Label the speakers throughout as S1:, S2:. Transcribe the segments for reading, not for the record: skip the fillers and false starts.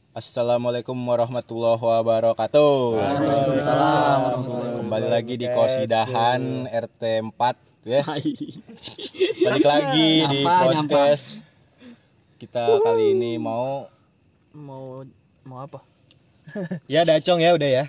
S1: Assalamualaikum warahmatullahi wabarakatuh.
S2: Waalaikumsalam.
S1: Kembali lagi di Kosidahan RT 4 ya. Balik lagi di podcast. Kita kali ini mau
S2: apa?
S1: Ya Dacong ya udah ya.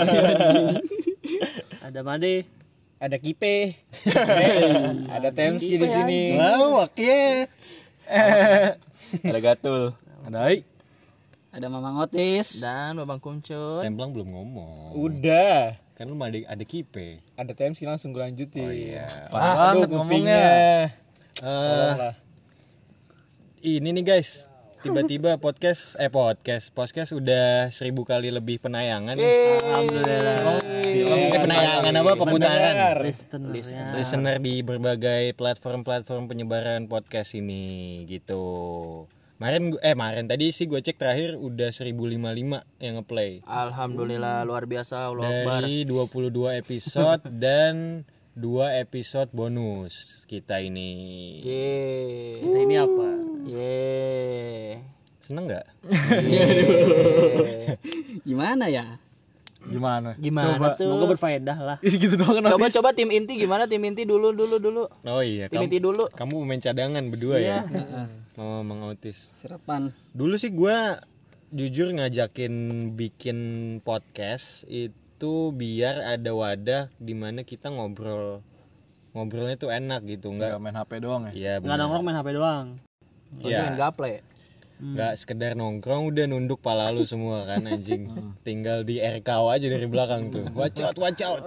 S2: Ada Made,
S1: Ada Kipe. Ada Temski di sini.
S3: Oke.
S1: Ada Gatul. Ada Ai.
S4: Ada Mamang Otis
S2: Dan Babang Kuncut.
S3: Templang belum ngomong.
S1: Udah.
S3: Kan lu ada Kipe.
S1: Ada Temski langsung gue lanjutin.
S3: Oh iya.
S1: Banget ngomongnya.
S3: Ini nih guys. Tiba-tiba podcast udah 1000 kali lebih penayangan.
S2: Alhamdulillah.
S3: Penayangan apa? Pemutaran.
S2: Listener.
S3: Di berbagai platform penyebaran podcast ini gitu. Kemarin tadi sih gue cek terakhir udah 1055 yang ngeplay.
S2: Alhamdulillah luar biasa. Allah Akbar.
S3: Dari 22 episode dan 2 episode bonus kita ini.
S2: Yeay.
S4: kita ini apa?
S2: Yeay.
S3: Seneng nggak?
S4: Gimana ya?
S2: Gimana
S4: Semoga
S2: tuh?
S4: berfaedah lah.
S3: Gitu doang.
S2: Coba tim inti gimana? Tim inti dulu.
S3: Oh iya.
S2: Tim inti dulu.
S3: Kamu pemain cadangan berdua ya? Sama Mang Otis.
S4: Serapan.
S3: Dulu sih gue jujur ngajakin bikin podcast itu biar ada wadah dimana kita ngobrolnya tuh enak gitu, nggak
S1: main HP doang ya.
S3: Iya
S4: Nggak
S3: benar.
S4: nongkrong main HP doang.
S2: Main
S3: Iya.
S2: gaple.
S3: Nggak sekedar nongkrong udah nunduk pala lu semua kan anjing. Tinggal di RKO aja dari belakang tuh. Watch out.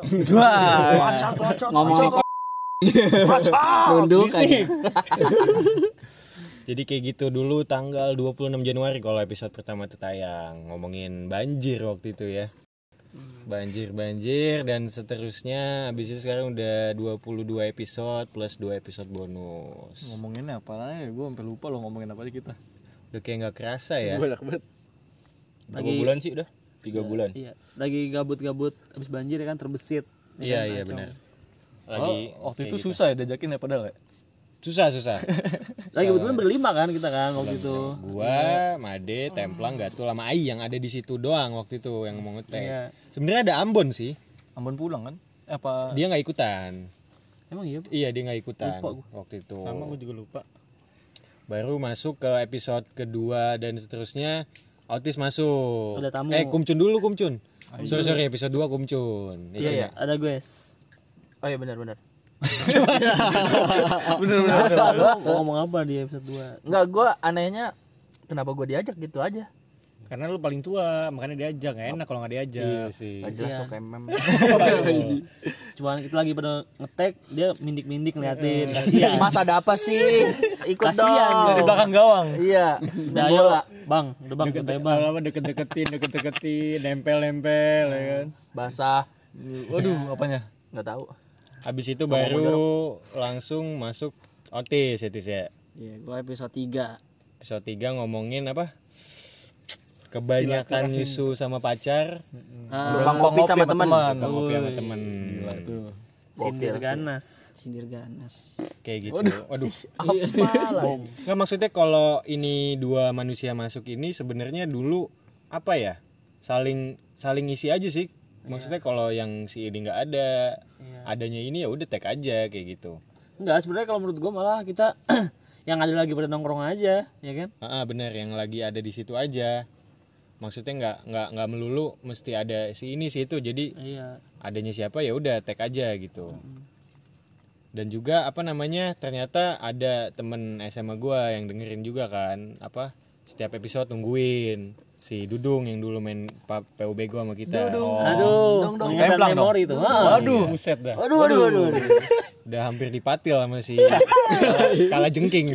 S4: Ngomong nunduk aja.
S3: Jadi kayak gitu dulu tanggal 26 Januari kalau episode pertama tuh tayang. Ngomongin banjir waktu itu ya. Banjir dan seterusnya. Habis itu sekarang udah 22 episode plus 2 episode bonus.
S1: Ngomonginnya apa aja? Gue sampai lupa lo ngomongin apa aja kita.
S3: Udah kayak nggak kerasa ya.
S1: Banyak banget.
S4: Lagi-
S1: 2 bulan sih udah. 3 bulan.
S4: Iya, lagi gabut-gabut abis banjir ya kan terbesit.
S3: Iya benar. Lagi
S1: Waktu
S3: kayak
S1: itu
S3: gitu.
S1: susah ya diajakin ya padahal ya.
S3: Susah.
S4: Lagi kebetulan berlima kan kita kan waktu itu.
S3: Gua, Made, Templang, Gatul sama Ai yang ada di situ doang waktu itu yang mau ngetek.
S4: Iya.
S3: Sebenarnya ada Ambon sih.
S1: Ambon pulang kan? Apa?
S3: Dia nggak ikutan.
S4: Emang iya?
S3: Iya dia nggak ikutan
S4: Lupa gua.
S3: waktu itu.
S1: Sama gue juga lupa.
S3: Baru masuk ke episode kedua dan seterusnya. Otis masuk.
S4: Ada tamu.
S3: Kumcun dulu Kumcun. Sorry episode 2 Kumcun.
S2: Iya.
S4: Ada guys.
S2: Oh iya benar.
S1: Bener.
S4: Mau ngomong apa di episode 2?
S2: Enggak, gue anehnya kenapa gue diajak gitu aja.
S5: Karena lu paling tua, makanya diajak. Gak enak kalau gak diajak.
S3: Iya sih.
S2: Gak jelas
S4: Iya.
S2: lo kemem.
S4: Cuman kita lagi pada ngetek, dia mindik-mindik ngeliatin. Kasihan.
S2: Mas ada apa sih? Ikut
S4: Kasian
S2: dong.
S1: Di belakang gawang.
S2: Iya.
S4: Udah ayo, Bang. Udah Bang, kita Bang.
S5: Lama deket-deketin, nempel-nempel ya kan.
S2: Basah.
S1: Waduh, apanya?
S2: Nggak tahu.
S3: Habis itu baru langsung masuk Otis ya.
S4: Iya, gua episode 3.
S3: Episode 3 ngomongin apa? Kebanyakan nyusu sama pacar.
S2: Numpang ngopi sama teman.
S3: Ngopi sama temen.
S4: Sindir ganas.
S3: Kayak gitu. Waduh. Nggak, maksudnya kalau ini dua manusia masuk ini sebenarnya dulu apa ya? Saling ngisi aja sih. Maksudnya kalau yang si ini nggak ada, adanya ini ya udah tag aja kayak gitu.
S4: Enggak, sebenarnya kalau menurut gua malah kita yang ada lagi pada nongkrong aja, ya kan?
S3: Bener, yang lagi ada di situ aja. Maksudnya nggak melulu mesti ada si ini si itu. Jadi
S4: Iya.
S3: adanya siapa ya udah tag aja gitu. Dan juga apa namanya, ternyata ada temen SMA gua yang dengerin juga kan, apa setiap episode nungguin si Dudung yang dulu main PUBG gua sama kita.
S4: Aduh, ingatan
S1: Templang dong.
S4: memori itu.
S3: Waduh, buset dah.
S4: Waduh.
S3: Udah hampir dipatil sama si kalah jengking.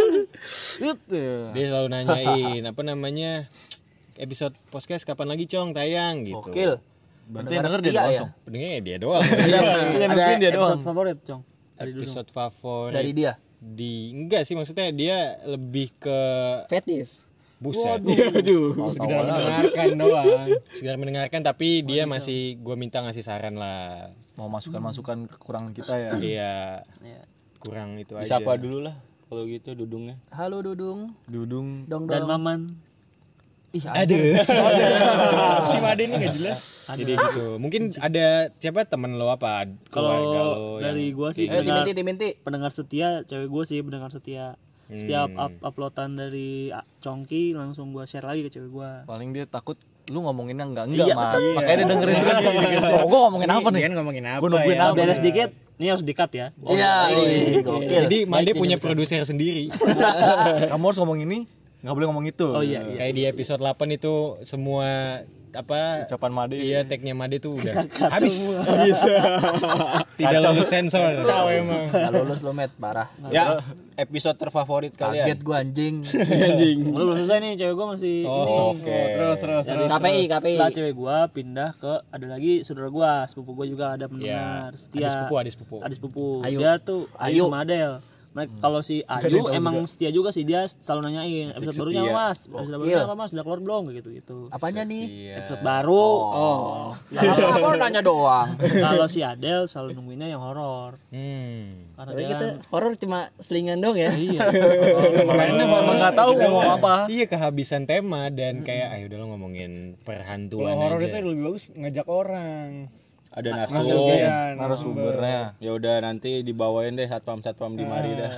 S3: Dia selalu nanyain apa namanya, episode podcast kapan lagi Cong tayang gitu.
S2: Gokil.
S1: Berarti
S2: Pendengar
S1: denger dia
S2: setia
S1: doang,
S2: ya?
S1: Cong.
S3: Pendengarnya dia doang.
S4: Ada
S1: mungkin dia doang.
S4: episode favorit, Cong.
S3: Episode favorit
S2: Dari dia.
S3: enggak sih, maksudnya dia lebih ke
S4: Fetis.
S3: buset.
S5: Sekedar mendengarkan doang.
S3: Sekedar mendengarkan, tapi dia masih gue minta ngasih saran lah.
S1: Mau masukan-masukan kekurangan kita ya.
S3: Iya,
S4: Iya.
S3: kurang itu aja.
S1: Disapa dulu lah kalau gitu Dudungnya.
S2: Halo Dudung.
S1: Dudung.
S2: Dong
S4: Dan
S2: dong.
S4: Maman.
S2: Ih,
S3: Aduh.
S5: Si Made ini enggak jelas.
S3: Jadi gitu. Mungkin ada siapa temen lo apa? Keluarga
S4: Kalau
S3: lo
S4: dari
S3: yang-
S4: gua sih
S2: Timinti.
S4: pendengar setia, cewek gua sih pendengar setia. Setiap uploadan dari Congki langsung gua share lagi ke cewek gua.
S6: Paling dia takut lu ngomonginnya enggak
S4: Iya,
S6: Mat.
S4: betul.
S6: Makanya dia dengerin terus. Oh, gua ngomongin apa nih?
S5: Kan ngomongin apa?
S6: Gua nungguin
S5: ya?
S6: apa?
S4: Beres dikit, ini harus di-cut ya.
S2: Iya, gokil.
S3: Jadi Made punya produser sendiri.
S6: Kamu harus ngomong ini, enggak boleh ngomong itu.
S4: Oh iya.
S3: Kayak di episode 8 itu semua apa
S6: Ucapan Made.
S3: iya tag-nya Made tuh udah habis. Tidak lulus sensor.
S5: Kacau emang.
S2: Enggak lulus lo, Met, parah.
S1: Ya, episode terfavorit kalian.
S2: Kaget gua anjing.
S4: Lu belum selesai nih, cewek gua masih
S1: Oh,
S4: ini.
S1: oke.
S5: Terus.
S2: KPI.
S4: Setelah cewek gua pindah ke ada lagi saudara gua, sepupu gua juga ada pendengar setia.
S3: Adik sepupu.
S4: Adik sepupu.
S2: Ayu.
S4: Dia tuh
S2: Ayu.
S4: Ayu sama Adel. Mereka kalau si Ayu emang setia juga sih, dia selalu nanyain episode barunya apa, Mas? Episode barunya apa, Mas? Udah keluar belum kayak gitu.
S2: Apanya nih?
S4: Episode baru.
S2: Kalau nanya doang.
S4: Kalau si Adel selalu nungguinnya yang horor. Karena
S7: Tapi
S4: dia
S7: kita
S4: kan
S7: horor cuma selingan dong ya.
S4: iya.
S6: Makanya memang enggak tahu ngomong apa.
S3: Iya kehabisan tema dan kayak ayo udah lo ngomongin perhantuan
S5: Kalau horor
S3: aja.
S5: itu lebih bagus ngajak orang.
S1: Ada
S5: Langsung
S1: narsum.
S5: ya,
S6: Narasumbernya.
S1: Ya udah nanti dibawain deh satpam di mari dah.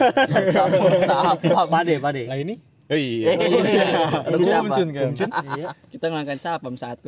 S4: Pade.
S3: Lah ini
S1: Oh iya.
S2: Ini siapa?
S6: Kumcun kan.
S4: Iya.
S7: Kita ngangkat sapam satu.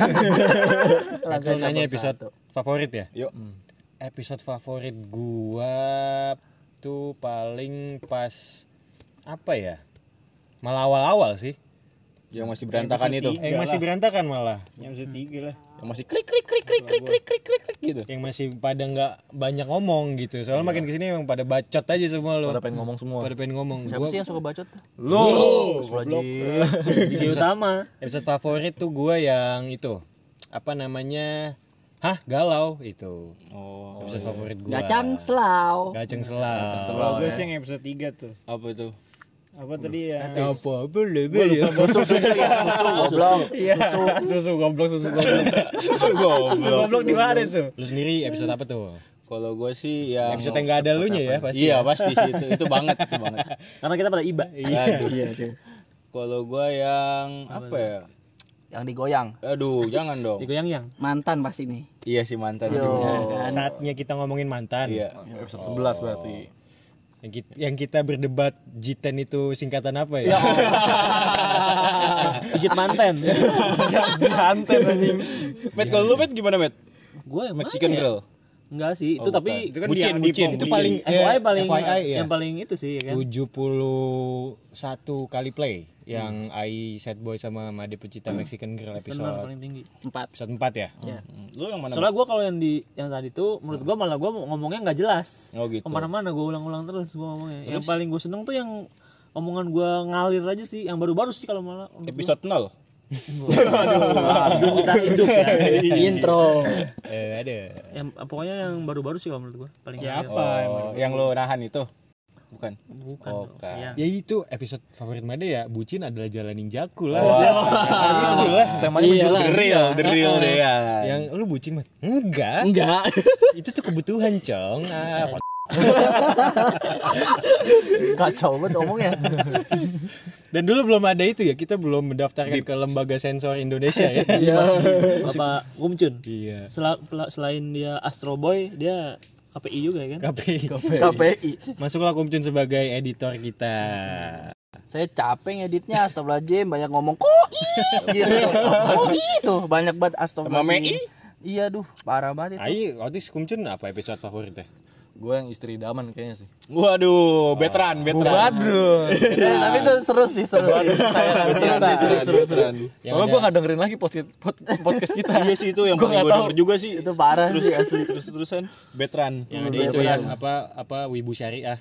S3: aku nanya episode favorit ya.
S1: Yuk.
S3: Episode favorit gua tuh paling pas apa ya? Malah awal-awal sih.
S1: Yang masih berantakan itu.
S3: Yang masih berantakan malah.
S5: Yang 3 lah.
S1: Yang masih krik gitu.
S3: Yang masih pada nggak banyak ngomong gitu. Soalnya makin kesini emang pada bacot aja semua lo.
S6: Pada pengen ngomong semua.
S3: Pada pengen ngomong.
S2: Siapa
S3: Gua
S2: sih yang suka bacot?
S6: Lu.
S4: Di utama.
S3: episode favorit tuh gua yang itu. Apa namanya? Hah, galau itu.
S1: Oh.
S3: Episode favorit gua.
S7: Gacang selau.
S3: Gaceng selau.
S5: Kalau gue sih yang episode 3 tuh.
S1: Apa itu?
S5: Apa tadi ya?
S3: Apa boleh.
S2: Susu goblok.
S5: Susu goblok. Susu goblok di mana tuh?
S3: Lu sendiri episode apa tuh?
S1: Kalau gue sih yang
S3: Episode yang nggak ada lunya ya pasti.
S1: Iya pasti sih itu banget.
S4: Karena kita pada iba.
S1: Aduh. Kalau gue yang apa ya?
S2: Yang digoyang.
S1: Aduh, jangan dong.
S4: Digoyang yang.
S7: Mantan pasti nih.
S1: Iya si mantan sih.
S3: Saatnya kita ngomongin mantan.
S1: Iya.
S6: Episode 11 berarti.
S3: Yang kita berdebat Jiten itu singkatan apa ya?
S4: Pijit manten.
S6: Jihanten anjing.
S1: Met kalau lu Met gimana Met?
S4: Gue yang
S1: Mexican
S4: mana ya?
S1: girl.
S4: Enggak sih, itu tapi
S5: Itu kan
S1: Bucin.
S3: Itu paling
S4: FYI paling
S3: FYI ya.
S4: yang paling itu sih ya kan.
S3: 71 kali play yang Ai Sad Boy sama Made pecinta Mexican Girl
S4: Benar
S3: episode
S4: paling tinggi.
S7: 4.
S3: episode 4 ya.
S1: Lu yang mana?
S4: Soalnya gue kalau yang tadi tuh menurut gue malah gue ngomongnya nggak jelas.
S1: Oh gitu.
S4: Kemana-mana gue ulang-ulang terus gue ngomongnya. Yang paling gue seneng tuh yang omongan gue ngalir aja sih, yang baru-baru sih kalau malah.
S1: Episode 0.
S4: Sebelum kita hidup ya.
S7: Intro.
S3: Ada.
S4: Yang pokoknya yang baru-baru sih kalau menurut gue paling
S5: Ya
S4: ngalir.
S5: apa?
S1: Oh, yang lu nahan itu? Bukan.
S4: Bukan.
S1: Oh,
S4: dong.
S1: kan.
S4: Ya.
S3: Ya itu episode favorit Made ya, bucin adalah jalan ninjaku lah.
S6: Temanya menjurus
S1: The real deh ya.
S3: Yang lu bucin mah? Enggak.
S7: Enggak.
S3: Itu tuh kebutuhan, Cong.
S2: Kacau banget ngomongnya.
S3: Dan dulu belum ada itu ya, kita belum mendaftarkan ke lembaga sensor Indonesia ya.
S4: Bapak Kumcun.
S3: Iya.
S4: Selain dia Astro Boy, dia KPI juga ya kan?
S2: KPI.
S3: Masuklah Kumcun sebagai editor kita.
S2: Saya capek ngeditnya, astagfirullahaladzim, banyak ngomong kok gitu. Kok gitu, banyak banget astagfirullahaladzim. Iya duh, parah banget itu.
S3: Ai, Otis Kumcun apa episode favoritnya?
S6: Gue yang istri idaman kayaknya sih.
S1: Waduh, veteran.
S6: Waduh.
S2: Tapi itu seru sih. Seru.
S6: Soalnya gue gak dengerin lagi podcast kita.
S1: Iya sih itu yang paling gue denger juga sih.
S2: Itu parah sih asli.
S1: Terus-terusan veteran.
S3: Yang ada itu yang apa Wibu Syariah.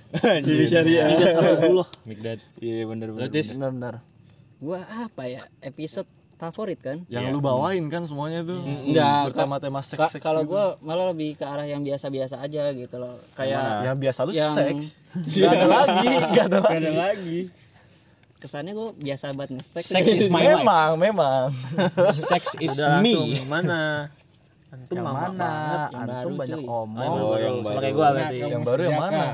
S3: Mikdad.
S1: Iya bener.
S2: Benar.
S7: Gua apa ya? Episode favorit kan?
S6: Yang lu bawain kan semuanya tuh.
S7: Enggak.
S6: Bertema-tema seks.
S7: Kalau gua malah lebih ke arah yang biasa-biasa aja gitu loh. Kayak
S6: yang biasa lu
S7: yang-
S6: seks. Gak ada lagi.
S5: Ada lagi.
S7: kesannya gua biasa banget nge-sex.
S3: Sex is my life.
S6: Memang.
S3: Sex is
S4: Udah langsung
S3: me.
S4: yang mana? Antum
S2: Yang
S4: mama
S2: mana?
S4: banget.
S7: yang
S2: Antum
S7: baru,
S2: banyak
S7: cuy.
S2: omong.
S1: Oh, yang
S4: Sama
S1: baru.
S4: kayak gua berarti.
S6: Yang baru yang mana?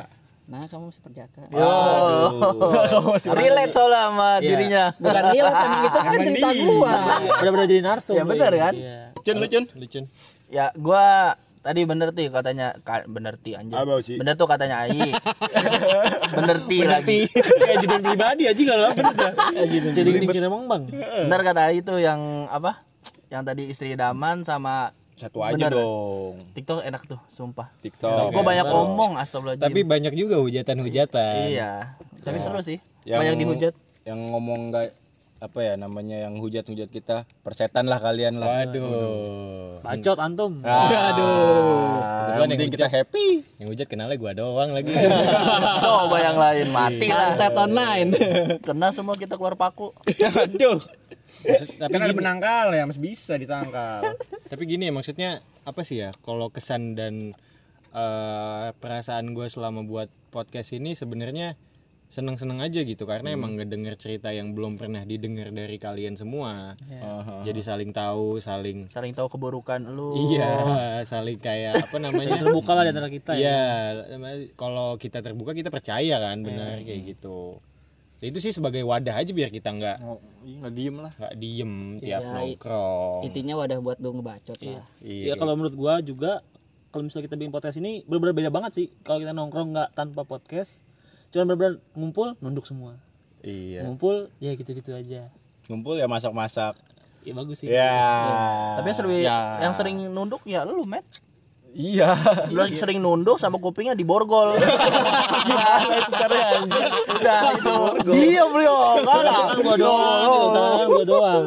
S7: Nah, kamu seperti apa?
S2: Yo. Relate soalnya sama dirinya.
S7: Bukan relate, emang itu kan cerita gua.
S4: Benar-benar jadi narsum.
S2: Ya benar kan?
S4: Iya.
S3: Lucun.
S2: Ya gua tadi bener tuh katanya bener ti anjir. Bener tuh katanya Ai. Bener ti lagi.
S4: Kayak judul pribadi aja kalau bener dah. Jadi dikira emang Bang.
S2: Bener kata Ai tuh yang apa? Yang tadi istri idaman sama
S1: Satu aja
S2: bener.
S1: dong.
S2: TikTok enak tuh, sumpah.
S1: TikTok.
S2: Gua banyak omong astagfirullahaladzim.
S3: Tapi banyak juga hujatan-hujatan.
S2: Iya. Tapi seru sih.
S1: Yang-
S2: Banyak dihujat.
S1: Yang ngomong enggak apa ya namanya yang hujat-hujat kita, persetan lah kalian lah.
S3: Waduh.
S4: Bacot antum.
S1: Yang penting kita happy.
S3: Yang hujat kenalnya gua doang lagi.
S2: Coba yang lain mati lah.
S7: Santet online.
S2: Kena semua kita keluar paku.
S1: Aduh.
S3: Tapi
S5: Kan ada
S3: gini,
S5: penangkal ya, masih bisa ditangkal.
S3: tapi gini ya maksudnya apa sih ya? Kalau kesan dan perasaan gue selama buat podcast ini sebenarnya seneng-seneng aja gitu karena emang ngedenger cerita yang belum pernah didengar dari kalian semua. Jadi saling tahu, saling
S2: Saling tahu keburukan lu.
S3: iya, saling kayak apa namanya?
S4: Terbuka lah di antara kita ya.
S3: Iya, kalau kita terbuka kita percaya kan benar kayak gitu. Ya, itu sih sebagai wadah aja biar kita nggak
S6: diem lah.
S3: diem tiap
S7: Iya,
S3: nongkrong.
S7: Intinya wadah buat lu ngebacot lah.
S4: Iya, kalau menurut gua juga kalau misalnya kita bikin podcast ini benar-benar beda banget sih. Kalau kita nongkrong nggak tanpa podcast, cuma benar-benar ngumpul nunduk semua.
S3: Iya.
S4: Ngumpul ya gitu-gitu aja.
S1: Ngumpul ya masak-masak.
S4: Ya bagus sih.
S1: Ya.
S2: Tapi yang sering nunduk ya lu, Met.
S6: Iya.
S2: Lu sering nunduk sama kupingnya diborgol. Gimana itu caranya anjir? Udah itu. Diam lu yo.
S4: Kan gua doang, gitu, kan gua doang.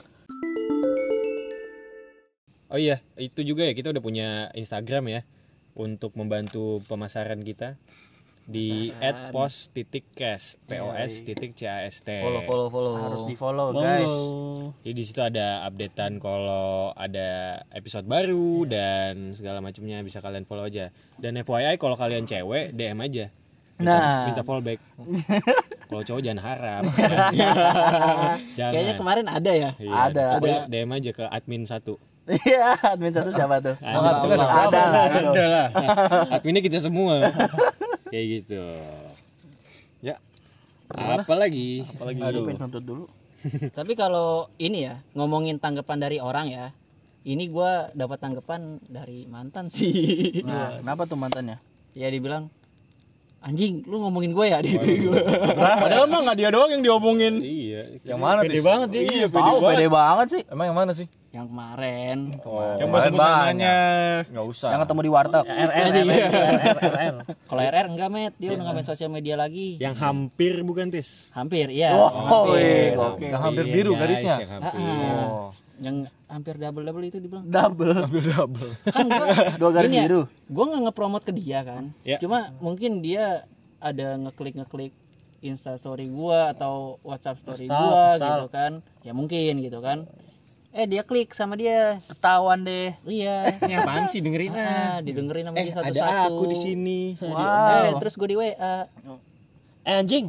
S3: Oh iya, itu juga ya kita udah punya Instagram ya untuk membantu pemasaran kita di @pos.cast pos.cast.
S6: Follow.
S2: Harus di-follow, guys.
S3: Jadi di situ ada updatean kalau ada episode baru dan segala macamnya bisa kalian follow aja. Dan FYI kalau kalian cewek DM aja. Minta fallback. Kalau cowok jangan harap. Jangan.
S7: Kayaknya kemarin ada ya.
S3: Iya,
S2: Ada.
S3: pokoknya DM aja ke admin 1.
S2: Iya, admin satu siapa tuh?
S3: Ada
S2: lah.
S3: Adminnya kita semua. Kayak gitu. Ya. Apa lagi?
S2: Aduh, pengen nuntut dulu.
S7: Tapi kalau ini ya, ngomongin tanggapan dari orang ya. Ini gua dapat tanggapan dari mantan sih.
S2: Nah, kenapa tuh mantannya?
S7: Ya dibilang anjing, lu ngomongin gue ya gitu.
S1: Padahal mah enggak dia doang yang diomongin.
S3: Iya.
S6: Yang mana
S5: Pede
S6: Tis?
S5: banget dia.
S1: Iya,
S2: Tahu pede banget sih.
S6: Emang yang mana sih?
S7: Yang kemarin.
S5: Coba sebut namanya.
S6: Enggak usah.
S2: Yang ketemu di warteg.
S4: RR.
S7: Kalau RR enggak, Met. Dia udah enggak main sosial media lagi.
S3: Yang hampir bukan Tis?
S7: Hampir, iya.
S2: Oh,
S7: Hampir.
S2: oke.
S6: Yang hampir biru
S3: guys,
S6: garisnya.
S3: yang hampir.
S6: Oh,
S7: Yang hampir double itu dibilang.
S2: Double.
S6: double.
S7: Kan gua
S2: Dua garis
S7: ini ya,
S2: biru.
S7: Gua enggak nge-promote ke dia kan.
S3: Ya.
S7: Cuma mungkin dia ada ngeklik Insta story gua atau WhatsApp story gua gitu kan. Ya mungkin gitu kan. Dia klik sama dia.
S2: Ketahuan deh.
S7: Iya.
S5: Ini apaan sih dengerin
S7: Didengerin sama dia satu-satu.
S3: Ada aku di sini.
S2: Wow.
S7: Terus gue di WA.
S4: Anjing.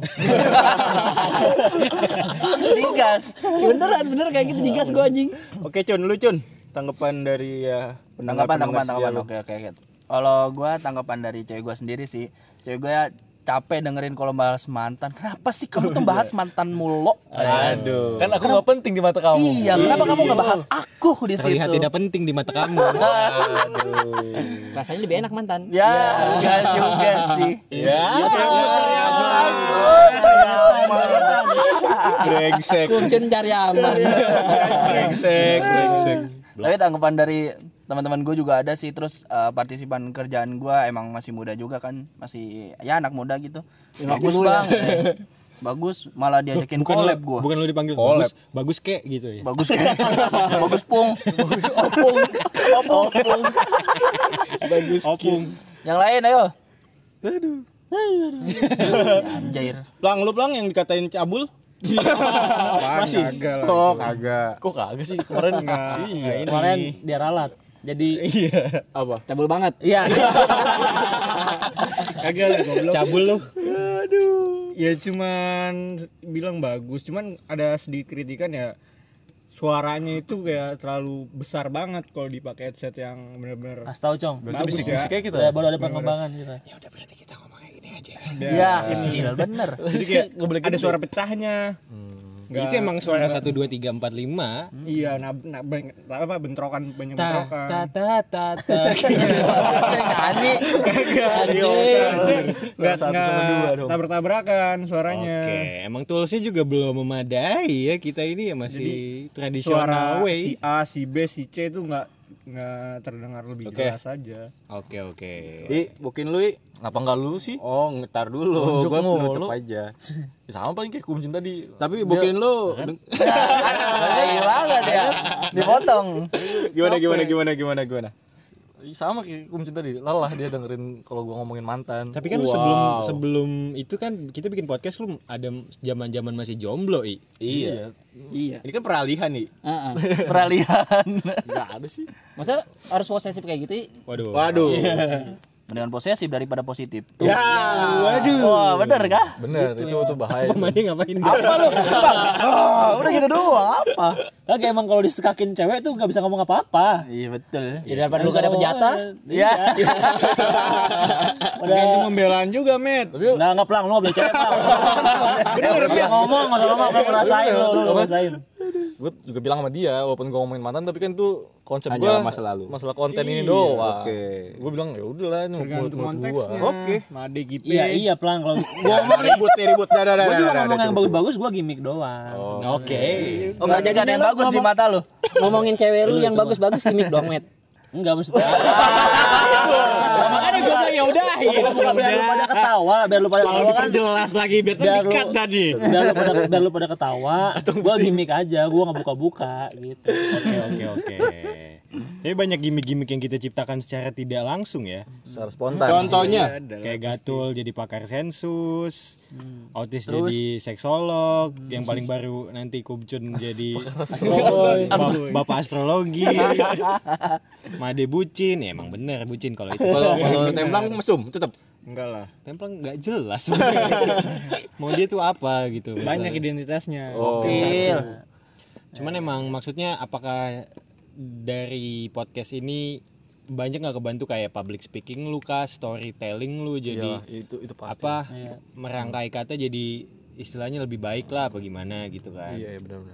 S2: Digas.
S7: Bener kayak gitu digas gue anjing.
S1: Oke, Cun, lu Cun. Tanggapan dari ya
S2: Tanggapan.
S1: setia lu.
S2: Oke. Kalau gua tanggapan dari cewek gua sendiri sih. Cewek gua ya capek dengerin kalau bahas mantan. Kenapa sih kamu tuh bahas mantan mulu?
S1: Aduh.
S6: Kan aku enggak penting di mata kamu.
S2: Iya, kenapa kamu nggak bahas aku di situ?
S3: Terlihat tidak penting di mata kamu.
S7: Rasanya lebih enak mantan.
S2: Ya, enggak juga sih.
S1: Ya. Brengsek.
S7: Kuncen cari aman.
S1: Brengsek.
S2: Tapi tanggapan dari teman-teman gue juga ada sih. Terus partisipan kerjaan gue emang masih muda juga kan, masih ya anak muda gitu. Bagus bang, bagus. Malah diajakin collab gue.
S3: Bukan lu dipanggil
S1: Collab.
S3: bagus kek gitu ya.
S2: Bagus bagus pung, opung.
S1: Bagus. Opung.
S2: Yang lain ayo. Anjir.
S1: Plang yang dikatain cabul. Masih.
S5: Kagak lah.
S1: Oh, kagak.
S6: Kok kagak sih? Kemarin
S5: Enggak. Ini.
S4: Kemarin dia ralat. Jadi
S1: Apa?
S7: Cabul banget.
S4: iya.
S5: Kagak lah goblok.
S3: Cabul lu.
S5: Ya cuman bilang bagus, cuman ada sedikit kritikan ya. Suaranya itu kayak terlalu besar banget kalau dipakai headset yang benar-benar
S4: Kasih tahu, Cong.
S5: bagus ya.
S6: Bisik-bisik kayak kita.
S4: Ya, baru ada pengembangan kita.
S1: aja.
S2: Ya, kecil bener.
S5: Jadi kayak ada suara pecahnya.
S3: Itu emang suara 1 2 3 4 5.
S5: Iya, bentrokan banyak bentrokan.
S2: Nyanyi.
S5: Enggak tabrak-tabrakan suaranya.
S3: Oke, emang toolsnya juga belum memadai ya, kita ini ya masih tradisional
S5: Suara
S3: way.
S5: si A, si B, si C itu enggak terdengar lebih jelas aja.
S3: Oke.
S1: Bukin lu, I.
S6: Ngapa enggak lu sih?
S1: Oh, ngetar dulu. Gua nutup aja.
S6: Ya, sama paling kayak kumcin tadi.
S1: Tapi bukin lu.
S2: Banget ya. Dipotong.
S1: Gimana?
S6: Sama kayak kumcin tadi. Lelah dia dengerin kalau gua ngomongin mantan.
S3: Tapi kan lu sebelum itu kan kita bikin podcast lu ada zaman-zaman masih jomblo, I.
S1: Iya.
S7: Iya.
S1: Ini kan peralihan nih.
S2: Peralihan.
S6: Enggak ada sih.
S7: Masa harus posesif kayak gitu?
S3: Waduh.
S2: Mendingan posesif daripada positif.
S1: Ya.
S2: Waduh. Wah, bener kah?
S6: Bener, itu bahaya.
S3: Pemainnya ngapain?
S2: Apa lu? Udah gitu doang, apa?
S4: Kagak emang kalau disekakin cewek tuh gak bisa ngomong apa-apa.
S2: Iya betul.
S7: Ya daripada lu gak dapet jatah.
S2: Iya.
S5: Gantung pembelaan juga, Met.
S4: Nggak pelang, lu nggak boleh cewek pelang. Udah bisa ngomong, nggak usah ngomong, lu ngerasain lu ngerasain.
S6: Gue juga bilang sama dia walaupun gue ngomongin mantan tapi kan tuh konsep
S1: Hanya
S6: gue
S1: masa lalu.
S6: masalah konten ini doang.
S1: Oke.
S6: Gue bilang ya udahlah ini
S5: Tergantung
S6: menurut gue.
S5: konteksnya.
S1: Oke.
S5: Made GP.
S4: Iya pelang kalau gua ngomong
S1: Ribut.
S4: gua juga ngomong yang bagus-bagus, gua gimmick doang.
S3: Oke.
S2: Oh, enggak jaga yang bagus di mata lu.
S7: Ngomongin cewek lu yang bagus-bagus gimmick dong, Met.
S4: Enggak maksudnya. Makanya gua bilang ya udah. Biar lu pada ketawa, biar lu pada ketawa kan.
S3: Jelas lagi biar
S4: Biar tadi. Biar lu pada ketawa. Gua gimmick aja, gua enggak buka-buka gitu.
S3: Oke. Tapi banyak gimmick-gimmick yang kita ciptakan secara tidak langsung ya.
S6: Secara spontan.
S1: Contohnya
S3: Kayak Gatul jadi pakar sensus, Autis jadi seksolog, yang paling baru nanti Kubcun jadi bapak astrologi, Made bucin, ya emang bener bucin kalau itu.
S1: kalau Templang mesum tetap.
S5: Enggak lah.
S3: Templang nggak jelas sebenarnya. Mau dia tuh apa gitu.
S5: Banyak identitasnya.
S2: Gokil.
S3: Cuman emang maksudnya apakah dari podcast ini banyak nggak kebantu kayak public speaking lu kah, storytelling lu jadi
S6: itu pasti.
S3: apa merangkai kata jadi istilahnya lebih baik lah apa gimana gitu kan.
S6: Iya benar-benar.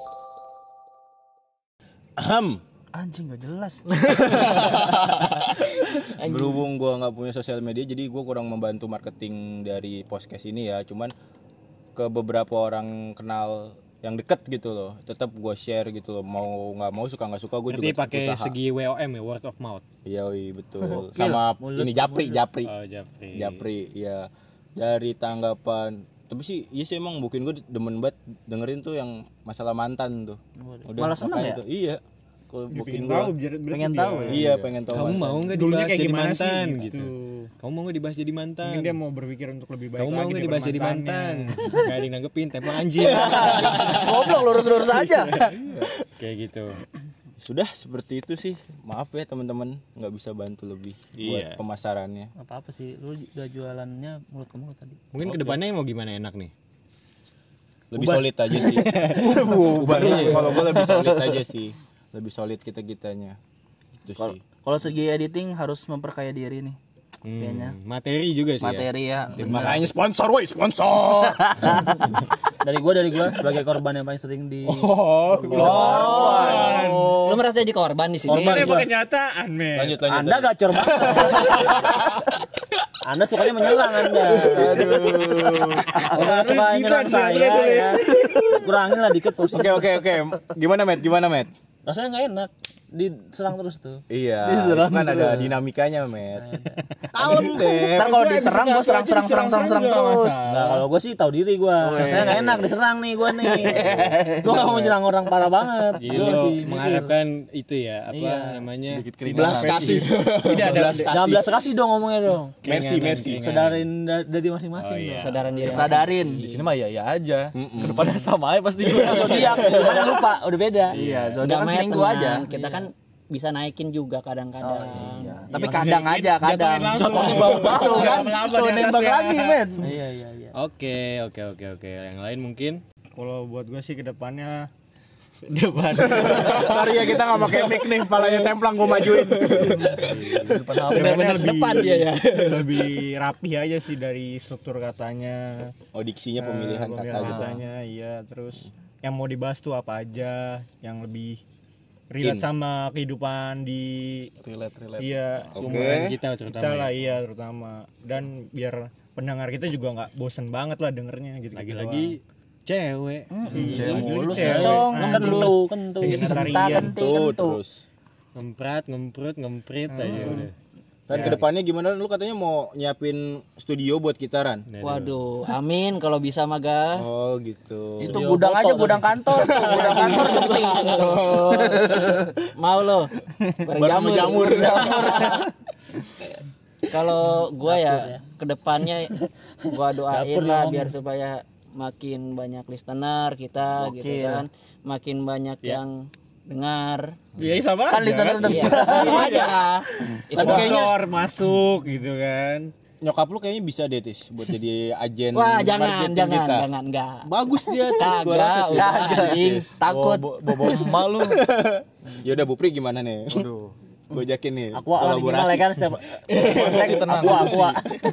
S2: Anjing enggak jelas.
S1: Berhubung gua nggak punya sosial media jadi gua kurang membantu marketing dari podcast ini ya. Cuman ke beberapa orang kenal yang deket gitu loh, tetap gue share gitu loh, mau nggak mau suka nggak suka gue juga
S3: pakai
S1: usaha.
S3: segi WOM ya, word of mouth.
S1: Iya betul. Sama ini Japri.
S3: Oh, Japri.
S1: Japri ya, dari tanggapan tapi sih iya sih emang mungkin gue demen banget dengerin tuh yang masalah mantan tuh.
S2: Malah seneng ya?
S1: tuh, iya. Kalau mungkin
S2: Pengen tahu ya.
S1: Iya pengen tahu.
S3: Kamu mau nggak
S5: Dulunya
S3: dibahas
S5: kayak
S3: jadi
S5: gimana sih,
S3: mantan
S5: gitu.
S3: Kamu mau nggak dibahas jadi mantan?
S5: Mungkin dia mau berpikir untuk lebih baik.
S3: Kamu mau nggak dibahas jadi mantan? Gak ada yang nanggepin, Templang anjing.
S2: Goblok lurus-lurus aja.
S3: Kayak gitu.
S1: Sudah seperti itu sih. Maaf ya teman-teman, nggak bisa bantu lebih buat pemasarannya.
S4: Apa sih? Lu udah jualannya mulut ke mulut tadi.
S3: Mungkin kedepannya mau gimana enak nih?
S1: Lebih solid aja sih. Kalau gue lebih solid aja sih. Lebih solid kita-kitanya. Itu sih.
S2: Kalau segi editing harus memperkaya diri nih. Kayaknya.
S3: Materi juga sih.
S2: Materi ya.
S1: Makanya sponsor sponsor.
S4: Dari gua sebagai korban yang paling sering di
S7: Lu merasa jadi korban di sini.
S4: korban
S5: Ini
S4: gua.
S5: kenyataan, men.
S1: Lanjut.
S4: Anda gacor banget. Anda sukanya menyerang Anda. Orang suka nyerang saya ya. Kurangin lah dikit porsi.
S1: Oke. Gimana Met?
S4: Rasanya nggak enak. Diserang terus tuh.
S1: Iya. Itu kan ada dinamikanya, Met. Kalem deh.
S2: Ntar kalau diserang gue serang terus.
S4: Nah, kalau gue sih tahu diri gue. Saya nggak enak diserang nih gue nih. Gue nggak mau nyerang orang parah banget.
S3: Jadi
S4: Gue
S3: lo
S4: sih
S3: mengharapkan itu ya apa namanya?
S1: Belas kasih.
S4: Jangan belas kasih dong ngomongnya dong.
S1: Mercy.
S4: Sadarin dari masing-masing dong.
S7: Sadaran diri.
S2: Sadarin.
S6: Di sini mah ya aja. Kedepannya sama aja pasti gue.
S4: Zodiak, mana lupa, udah beda.
S2: Iya,
S7: Udah
S2: zodiak kan
S7: Met,
S2: seminggu
S7: tenang.
S2: aja.
S7: Kita kan bisa naikin juga kadang-kadang.
S2: Tapi kadang aja, kadang.
S5: Langsung.
S2: Tuh kan, tuh nembak lagi, men.
S4: Iya.
S3: Oke. Yang lain mungkin
S5: Kalau buat gue sih kedepannya Depan.
S1: Sorry ya kita nggak pakai mic nih, palanya templang gue majuin.
S7: Benar-benar depan dia ya.
S5: Lebih rapi aja sih dari struktur katanya.
S1: Oh diksinya pemilihan kata gitu.
S5: Katanya iya, terus yang mau dibahas tuh apa aja yang lebih relate sama kehidupan di
S6: relate.
S5: iya
S3: Seumuran kita
S5: kita
S3: terutama.
S5: lah iya terutama, dan biar pendengar kita juga nggak bosen banget lah dengernya gitu.
S3: Lagi-lagi cewek.
S2: Cewek mulu
S5: cewek.
S2: secong
S4: Kentu.
S1: Tuh terus.
S3: Ngempret aja udah.
S1: Dan kedepannya gimana? Lu katanya mau nyiapin studio buat kita Ran?
S7: Waduh, amin kalau bisa mah ga.
S1: Oh gitu.
S2: itu gudang aja, gudang kantor tuh, gudang kantor sepi.
S7: Mau lo berjamur. Kalau gua ya kedepannya gua doain lah biar supaya makin banyak listener kita gitu kan, makin banyak yang dengar.
S5: Iya sama
S2: Kan listener udah
S7: Iya, sama aja. Itu doang.
S5: sponsor masuk gitu kan.
S1: Nyokap lu kayaknya bisa deh Tis buat jadi agen
S7: Wah, jangan
S1: marketing kita.
S7: enggak.
S1: Bagus dia Tis, gua rasa
S7: Kagak, udah anjing.
S2: takut.
S6: Bobo emak lu.
S1: Ya udah Bupri gimana nih?
S6: Aduh.
S1: Gue ajakin nih
S4: Aku minimal ya kan setiap
S6: tenang,
S4: aku.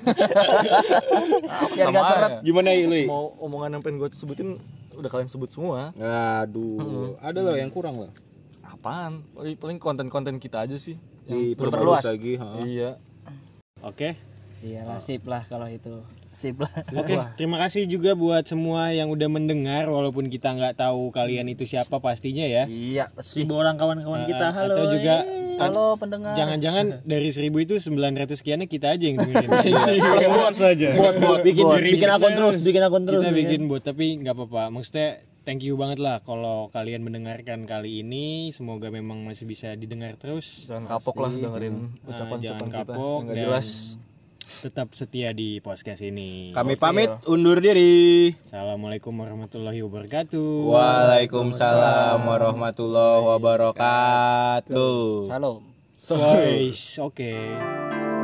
S2: Biar gak seret.
S1: Gimana Lui?
S6: Mau omongan yang pengen gue sebutin udah kalian sebut semua.
S1: Aduh, ada loh yang kurang loh.
S6: Apaan? Paling konten-konten kita aja sih.
S1: Diperluas lagi, ha.
S6: Iya.
S3: Oke.
S7: Iyalah sip lah kalau itu.
S2: Sip lah.
S3: Oke, terima kasih juga buat semua yang udah mendengar walaupun kita nggak tahu kalian itu siapa pastinya ya.
S2: Iya, pasti.
S4: 1000 orang kawan-kawan kita. Halo.
S3: Atau juga
S2: Halo pendengar.
S3: jangan-jangan dari 1000 itu 900 sekiannya kita aja yang dengerin.
S5: Buat saja.
S4: Bikin akun terus.
S3: Kita bikin bot tapi nggak apa-apa. Maksudnya thank you banget lah kalau kalian mendengarkan kali ini. Semoga memang masih bisa didengar terus.
S6: Jangan kapok lah dengerin ucapan-ucapan
S3: Jangan
S6: kita.
S3: kapok
S6: Nggak
S3: dan
S6: jelas.
S3: tetap setia di podcast ini.
S1: Kami pamit undur diri.
S3: Assalamualaikum warahmatullahi wabarakatuh.
S1: Waalaikumsalam warahmatullahi wabarakatuh.
S7: Salam.
S3: Oke.